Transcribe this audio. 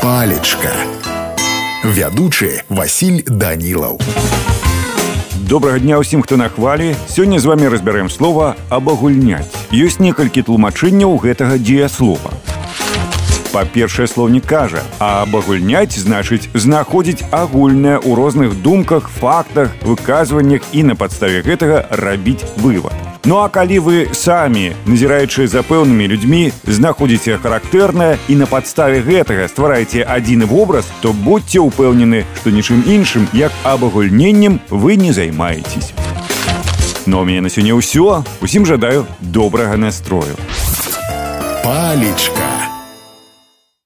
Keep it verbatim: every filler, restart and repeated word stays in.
Палечка. Вядучы Васіль Данілаў. Добрага дня ўсім, хто на хвалі. Сёння з вами разбярэм слова «абагульняць». Ёсць некалькі тлумачэнняў гэтага дзеяслова. Па-першае, слоўнік кажа, а абагульняць значыць знаходзіць агульнае ў розных думках, фактах, выказваннях і на падставе гэтага рабіць вывад. Ну а калі вы самі, назіраючы за пэўнымі людзьмі, знаходзіце характэрнае і на падставе гэтага ствараеце адзіны вобраз, то будзьце ўпэўнены, што нічым іншым, як абагульненнем, вы не займаецеся. Ну а ў мяне на сёння ўсё. Усім жадаю добрага настрою. Палечка.